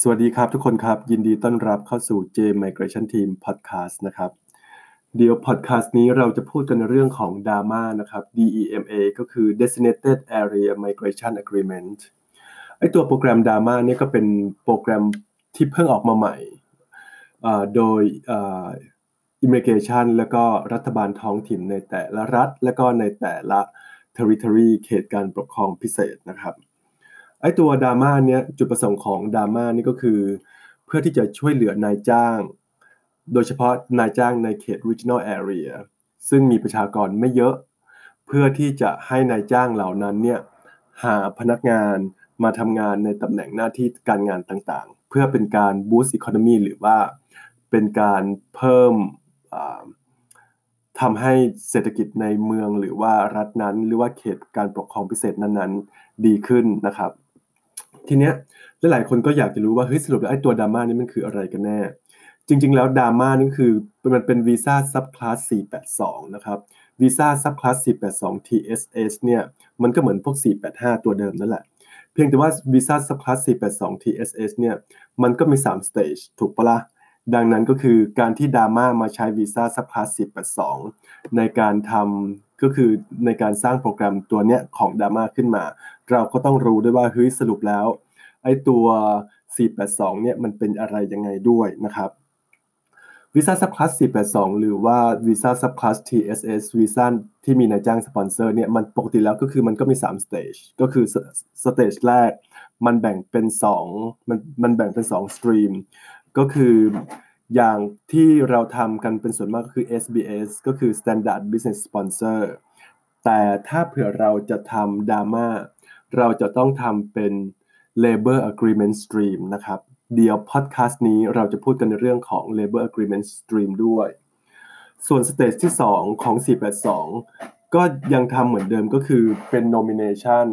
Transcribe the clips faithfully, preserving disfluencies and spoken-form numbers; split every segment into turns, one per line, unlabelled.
สวัสดีครับทุกคนครับยินดีต้อนรับเข้าสู่ J Migration Team Podcast นะครับเดี๋ยว Podcast นี้เราจะพูดกันในเรื่องของ ดี เอ เอ็ม เอ นะครับ ดี อี เอ็ม เอ ก็คือ Designated Area Migration Agreement ไอ้ตัวโปรแกรม ดี เอ เอ็ม เอ เนี่ยก็เป็นโปรแกรมที่เพิ่งออกมาใหม่อ่าโดยอ่า Immigration แล้วก็รัฐบาลท้องถิ่นในแต่ละรัฐและก็ในแต่ละ Territory เขตการปกครองพิเศษนะครับไอ้ตัว ดี เอ เอ็ม เอ เนี่ยจุดประสงค์ของ ดี เอ เอ็ม เอ นี่ก็คือเพื่อที่จะช่วยเหลือนายจ้างโดยเฉพาะนายจ้างในเขต Regional Area ซึ่งมีประชากรไม่เยอะเพื่อที่จะให้นายจ้างเหล่านั้นเนี่ยหาพนักงานมาทำงานในตำแหน่งหน้าที่การงานต่างๆเพื่อเป็นการ boost economy หรือว่าเป็นการเพิ่มทำให้เศรษฐกิจในเมืองหรือว่ารัฐนั้นหรือว่าเขตการปกครองพิเศษนั้นๆดีขึ้นนะครับทีเนี้ยหลายๆคนก็อยากจะรู้ว่าเฮ้ยสรุปแล้วไอ้ตัว ดี เอ เอ็ม เอ นี่มันคืออะไรกันแน่จริงๆแล้ว ดี เอ เอ็ม เอ นี่คือมันเป็นวีซ่าซับคลาสสี่แปดสองนะครับวีซ่าซับคลาสสี่แปดสอง ที เอส เอส เนี่ยมันก็เหมือนพวกสี่แปดห้าตัวเดิมนั่นแหละเพียงแต่ว่าวีซ่าซับคลาสสี่แปดสอง ที เอส เอส เนี่ยมันก็มีสามสเตจถูกปะล่ะดังนั้นก็คือการที่ ดี เอ เอ็ม เอ มาใช้วีซ่าซับคลาสสี่แปดสองในการทำก็คือในการสร้างโปรแกรมตัวเนี้ยของ ดี เอ เอ็ม เอ ขึ้นมาเราก็ต้องรู้ด้วยว่าเฮ้ยสรุปแล้วไอ้ตัวสี่แปดสองเนี่ยมันเป็นอะไรยังไงด้วยนะครับวีซ่าซับคลาสสี่แปดสองหรือว่าวีซ่าซับคลาส ที เอส เอส วีซ่าที่มีนายจ้างสปอนเซอร์เนี่ยมันปกติแล้วก็คือมันก็มีสามสเตจก็คือสเตจแรกมันแบ่งเป็นสองมันมันแบ่งเป็นสองสตรีมก็คืออย่างที่เราทำกันเป็นส่วนมากก็คือ เอส บี เอส ก็คือ Standard Business Sponsor แต่ถ้าเผื่อเราจะทำ ดี เอ เอ็ม เอ เราจะต้องทำเป็น Labor Agreement Stream นะครับเดี๋ยว podcast นี้เราจะพูดกันในเรื่องของ Labor Agreement Stream ด้วยส่วนสเตจที่สองของสี่แปดสองก็ยังทำเหมือนเดิมก็คือเป็น Nomination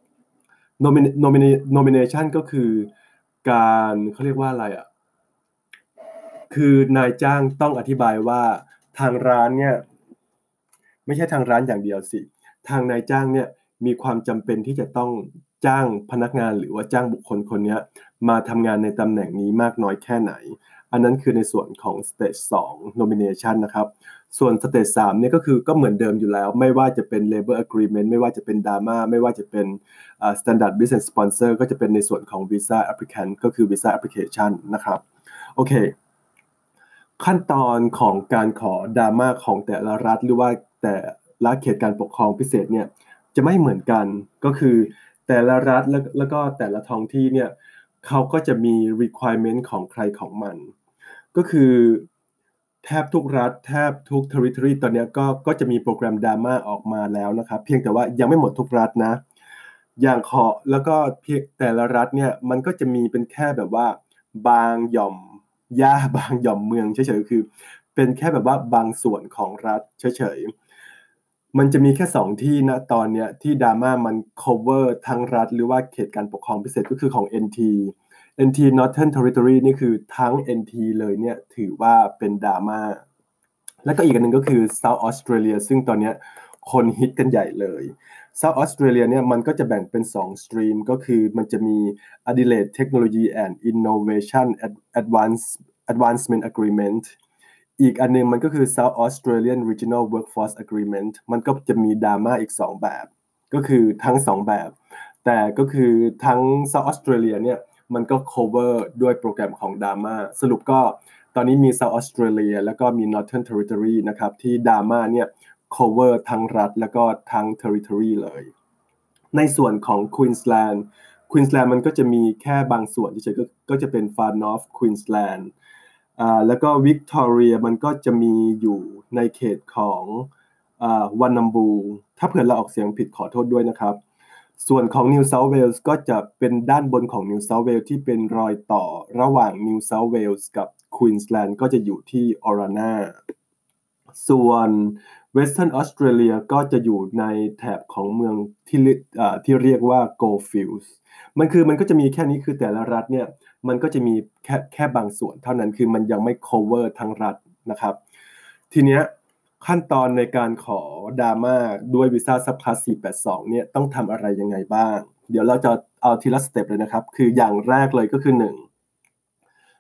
Nomin- Nomin- Nomination ก็คือการเขาเรียกว่าอะไรอ่ะคือนายจ้างต้องอธิบายว่าทางร้านเนี่ยไม่ใช่ทางร้านอย่างเดียวสิทางนายจ้างเนี่ยมีความจำเป็นที่จะต้องจ้างพนักงานหรือว่าจ้างบุคคลคนนี้มาทำงานในตำแหน่งนี้มากน้อยแค่ไหนอันนั้นคือในส่วนของ Stage สอง Nomination นะครับส่วน Stage สามเนี่ยก็คือก็เหมือนเดิมอยู่แล้วไม่ว่าจะเป็น Labor Agreement ไม่ว่าจะเป็น ดี เอ เอ็ม เอ ไม่ว่าจะเป็น uh, Standard Business Sponsor ก็จะเป็นในส่วนของ Visa Applicant ก็คือ Visa Application นะครับโอเคขั้นตอนของการขอ ดี เอ เอ็ม เอ ของแต่ละรัฐหรือว่าแต่ละเขตการปกครองพิเศษเนี่ยจะไม่เหมือนกันก็คือแต่ละรัฐแล้วแล้วก็แต่ละท้องที่เนี่ยเขาก็จะมี requirement ของใครของมันก็คือแทบทุกรัฐแทบทุก territory ตอนนี้ก็ก็จะมีโปรแกรม ดี เอ เอ็ม เอ ออกมาแล้วนะครับเพียงแต่ว่ายังไม่หมดทุกรัฐนะอย่างขอแล้วก็เพียงแต่ละรัฐเนี่ยมันก็จะมีเป็นแค่แบบว่าบางหย่อมหญ้าบางหย่อมเมืองเฉยๆคือเป็นแค่แบบว่าบางส่วนของรัฐเฉยๆมันจะมีแค่สองที่นะตอนเนี้ยที่ ดี เอ เอ็ม เอ มัน cover ทั้งรัฐหรือว่าเขตการปกครองพิเศษก็คือของ เอ็น ที เอ็น ที Northern Territory นี่คือทั้ง เอ็น ที เลยเนี่ยถือว่าเป็น ดี เอ เอ็ม เอ แล้วก็อีกอันหนึ่งก็คือ South Australia ซึ่งตอนนี้คนฮิตกันใหญ่เลย South Australia เนี่ยมันก็จะแบ่งเป็นสองสตรีมก็คือมันจะมี Adelaide Technology and Innovation Advance Advancement Agreement อีกอันนึงมันก็คือ South Australian Regional Workforce Agreement มันก็จะมี ดี เอ เอ็ม เอ อีกสองแบบก็คือทั้งสองแบบแต่ก็คือทั้ง South Australia เนี่ยมันก็ cover ด้วยโปรแกรมของ ดี เอ เอ็ม เอ สรุปก็ตอนนี้มี South Australia แล้วก็มี Northern Territory นะครับที่ ดี เอ เอ็ม เอ เนี่ย cover ทั้งรัฐแล้วก็ทั้ง Territory เลยในส่วนของ Queensland Queensland มันก็จะมีแค่บางส่วนเฉยๆก็ก็จะเป็น Far North Queensland อ่าแล้วก็ Victoria มันก็จะมีอยู่ในเขตของอ่าวันนัมบูถ้าเผื่อเราออกเสียงผิดขอโทษด้วยนะครับส่วนของ New South Wales ก็จะเป็นด้านบนของ New South Wales ที่เป็นรอยต่อระหว่าง New South Wales กับ Queensland ก็จะอยู่ที่ Orana ส่วน Western Australia ก็จะอยู่ในแถบของเมืองที่อ่าที่เรียกว่า Goldfields มันคือมันก็จะมีแค่นี้คือแต่ละรัฐเนี่ยมันก็จะมีแค่แค่บางส่วนเท่านั้นคือมันยังไม่ cover ทั้งรัฐนะครับทีเนี้ยขั้นตอนในการขอ ดี เอ เอ็ม เอ ด้วยวีซ่าซับคลาสสี่แปดสองเนี่ยต้องทำอะไรยังไงบ้างเดี๋ยวเราจะเอาทีละสเต็ปเลยนะครับคืออย่างแรกเลยก็คือหนึ่ง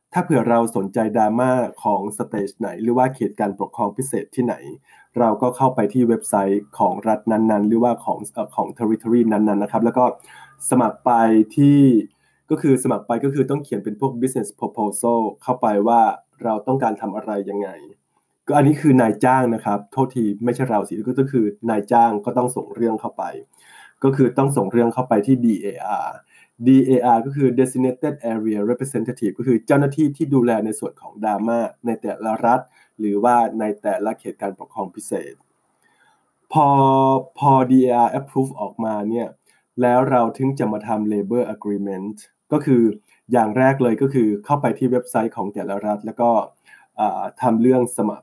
ถ้าเผื่อเราสนใจดราม่าของสเตจไหนหรือว่าเขตการปกครองพิเศษที่ไหนเราก็เข้าไปที่เว็บไซต์ของรัฐนั้นๆหรือว่าของเอ่อของ territory นั้นๆนะครับแล้วก็สมัครไปที่ก็คือสมัครไปก็คือต้องเขียนเป็นพวก business proposal เข้าไปว่าเราต้องการทำอะไรยังไงก็อันนี้คือนายจ้างนะครับโทษทีไม่ใช่เราสิก็คือนายจ้างก็ต้องส่งเรื่องเข้าไปก็คือต้องส่งเรื่องเข้าไปที่ ดี เอ อาร์ ดี เอ อาร์ ก็คือ Designated Area Representative ก็คือเจ้าหน้าที่ที่ดูแลในส่วนของดราม่าในแต่ละรัฐหรือว่าในแต่ละเขตการปกครองพิเศษพอพอ ดี เอ อาร์ approve ออกมาเนี่ยแล้วเราถึงจะมาทำ Labor Agreement ก็คืออย่างแรกเลยก็คือเข้าไปที่เว็บไซต์ของแต่ละรัฐแล้วก็ทำเรื่องสมัคร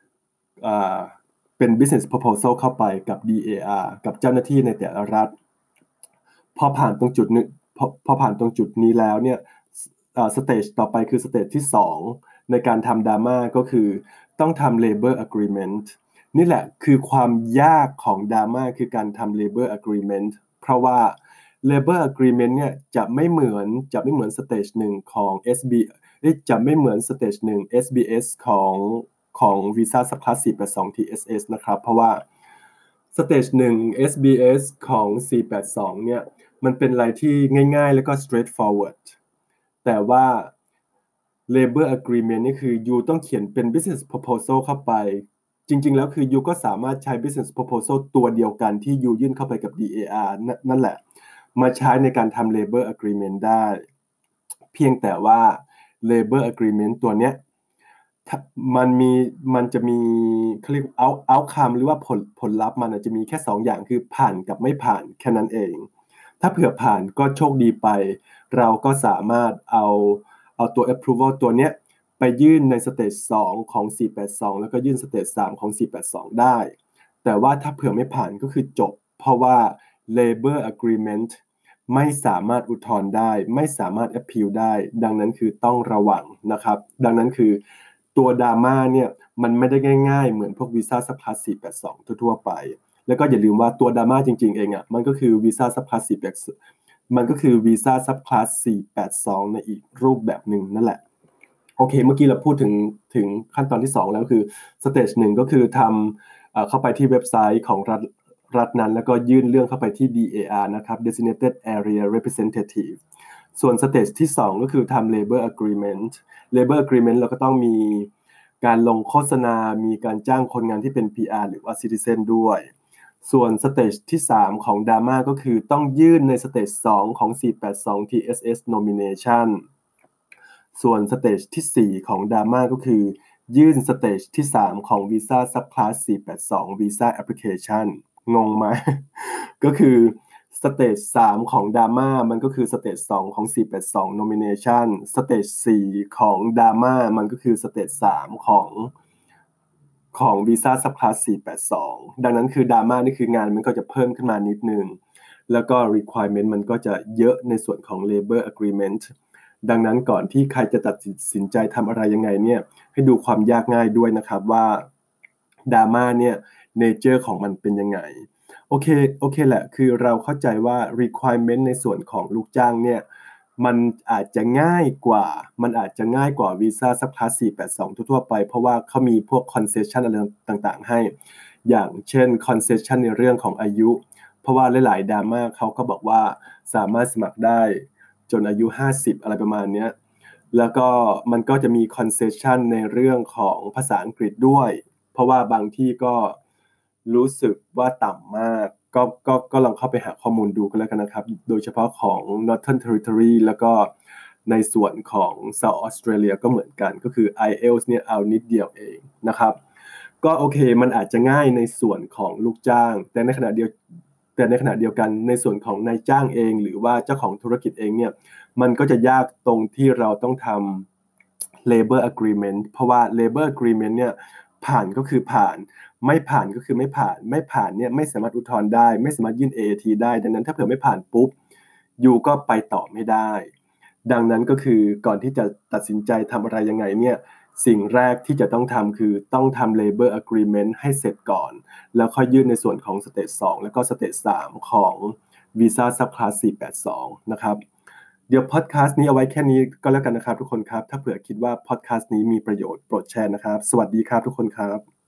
เป็น business proposal เข้าไปกับ ดี เอ อาร์ กับเจ้าหน้าที่ในแต่ละรัฐพอผ่านตรงจุดนี้พอพอผ่านตรงจุดนี้แล้วเนี่ยสเตจต่อไปคือสเตจที่สองในการทำดราม่าก็คือต้องทำ labor agreement นี่แหละคือความยากของดราม่าคือการทำ labor agreement เพราะว่า labor agreement เนี่ยจะไม่เหมือนจะไม่เหมือนสเตจหนึ่งของ เอส บี จะไม่เหมือนสเตจหนึ่ง เอส บี เอส ของของ Visa Subclass สี่แปดสอง ที เอส เอส นะครับเพราะว่าสเตจหนึ่ง เอส บี เอส ของสี่แปดสองเนี่ยมันเป็นอะไรที่ง่ายๆแล้วก็ straightforward แต่ว่า labor agreement นี่คือยูต้องเขียนเป็น business proposal เข้าไปจริงๆแล้วคือยูก็สามารถใช้ business proposal ตัวเดียวกันที่ยูยื่นเข้าไปกับ ดี เอ อาร์ นั่นแหละมาใช้ในการทำ labor agreement ได้เพียงแต่ว่า labor agreement ตัวเนี้ยมันมีมันจะมีเขาเรียก out outcome หรือว่าผลผลลัพธ์มันจะมีแค่สองอย่างคือผ่านกับไม่ผ่านแค่นั้นเองถ้าเผื่อผ่านก็โชคดีไปเราก็สามารถเอาเอาตัว approval ตัวเนี้ยไปยื่นในสเตจสองของสี่แปดสองแล้วก็ยื่นสเตจสามของสี่แปดสองได้แต่ว่าถ้าเผื่อไม่ผ่านก็คือจบเพราะว่า labor agreement ไม่สามารถอุทธรณ์ได้ไม่สามารถ appeal ได้ดังนั้นคือต้องระวังนะครับดังนั้นคือตัวดราม่าเนี่ยมันไม่ได้ง่ายๆเหมือนพวก Visa Subclass สี่แปดสองทั่วๆไปแล้วก็อย่าลืมว่าตัวดราม่าจริงๆเองอ่ะมันก็คือ Visa Subclass สี่แปดมันก็คือ Visa Subclass สี่แปดสองในอีกรูปแบบหนึ่งนั่นแหละโอเคเมื่อกี้เราพูดถึงถึงขั้นตอนที่สองแล้วคือสเตจหนึ่งก็คือทำเข้าไปที่เว็บไซต์ของรัฐรัฐนั้นแล้วก็ยื่นเรื่องเข้าไปที่ ดี เอ อาร์ นะครับ Designated Area Representative ส่วนสเตจที่สองก็คือทำ Labor Agreement Labor Agreement เราก็ต้องมีการลงโฆษณามีการจ้างคนงานที่เป็น พี อาร์ หรือว่า Citizen ด้วยส่วนสเตจที่สามของ Dharma ก็คือต้องยื่นในสเตจสองของสี่แปดสอง ที เอส เอส Nomination ส่วนสเตจที่สี่ของ Dharma ก็คือยื่นสเตจที่สามของ Visa Subclass สี่แปดสอง Visa Application งงไหม ก็คือสเตจสามของ Dharma มันก็คือสเตจสองของสี่แปดสอง Nomination สเตจสี่ของ Dharma มันก็คือสเตจสามของของ Visa Subclass สี่แปดสองดังนั้นคือ Dharma นี่คืองานมันก็จะเพิ่มขึ้นมานิดนึงแล้วก็ requirement มันก็จะเยอะในส่วนของ labor agreement ดังนั้นก่อนที่ใครจะตัดสินใจทำอะไรยังไงเนี่ยให้ดูความยากง่ายด้วยนะครับว่า Dharma เนี่ย nature ของมันเป็นยังไงโอเคโอเคแหละคือเราเข้าใจว่า requirement ในส่วนของลูกจ้างเนี่ยมันอาจจะง่ายกว่ามันอาจจะง่ายกว่า Visa Subclass สี่แปดสองทั่วๆไปเพราะว่าเขามีพวก concession อะไรต่างๆให้อย่างเช่น concession ในเรื่องของอายุเพราะว่าหลายๆดราม่าเขาก็บอกว่าสามารถสมัครได้จนอายุห้าสิบอะไรประมาณนี้แล้วก็มันก็จะมี concession ในเรื่องของภาษาอังกฤษด้วยเพราะว่าบางที่ก็รู้สึกว่าต่ำมากก็ก็ก็ลองเข้าไปหาข้อมูลดูกันแล้วกันนะครับโดยเฉพาะของ Northern Territory แล้วก็ในส่วนของ South Australia ก็เหมือนกันก็คือ ไอ เอล ที เอส เนี่ยเอานิดเดียวเองนะครับก็โอเคมันอาจจะง่ายในส่วนของลูกจ้างแต่ในขณะเดียวแต่ในขณะเดียวกันในส่วนของนายจ้างเองหรือว่าเจ้าของธุรกิจเองเนี่ยมันก็จะยากตรงที่เราต้องทำ labor agreement เพราะว่า labor agreement เนี่ยผ่านก็คือผ่านไม่ผ่านก็คือไม่ผ่านไม่ผ่านเนี่ยไม่สามารถอุทธรณ์ได้ไม่สามารถยื่น เอ เอ ที ได้ดังนั้นถ้าเผื่อไม่ผ่านปุ๊บยูก็ไปต่อไม่ได้ดังนั้นก็คือก่อนที่จะตัดสินใจทำอะไรยังไงเนี่ยสิ่งแรกที่จะต้องทำคือต้องทำ labor agreement ให้เสร็จก่อนแล้วค่อยยื่นในส่วนของ stage สองแล้วก็ stage สามของ Visa Subclass สี่แปดสองนะครับเดี๋ยวพอดแคสต์นี้เอาไว้แค่นี้ก็แล้วกันนะครับทุกคนครับถ้าเผื่อคิดว่าพอดแคสต์นี้มีประโยชน์โปรดแชร์นะครับสวัสดีครับทุกคนครับ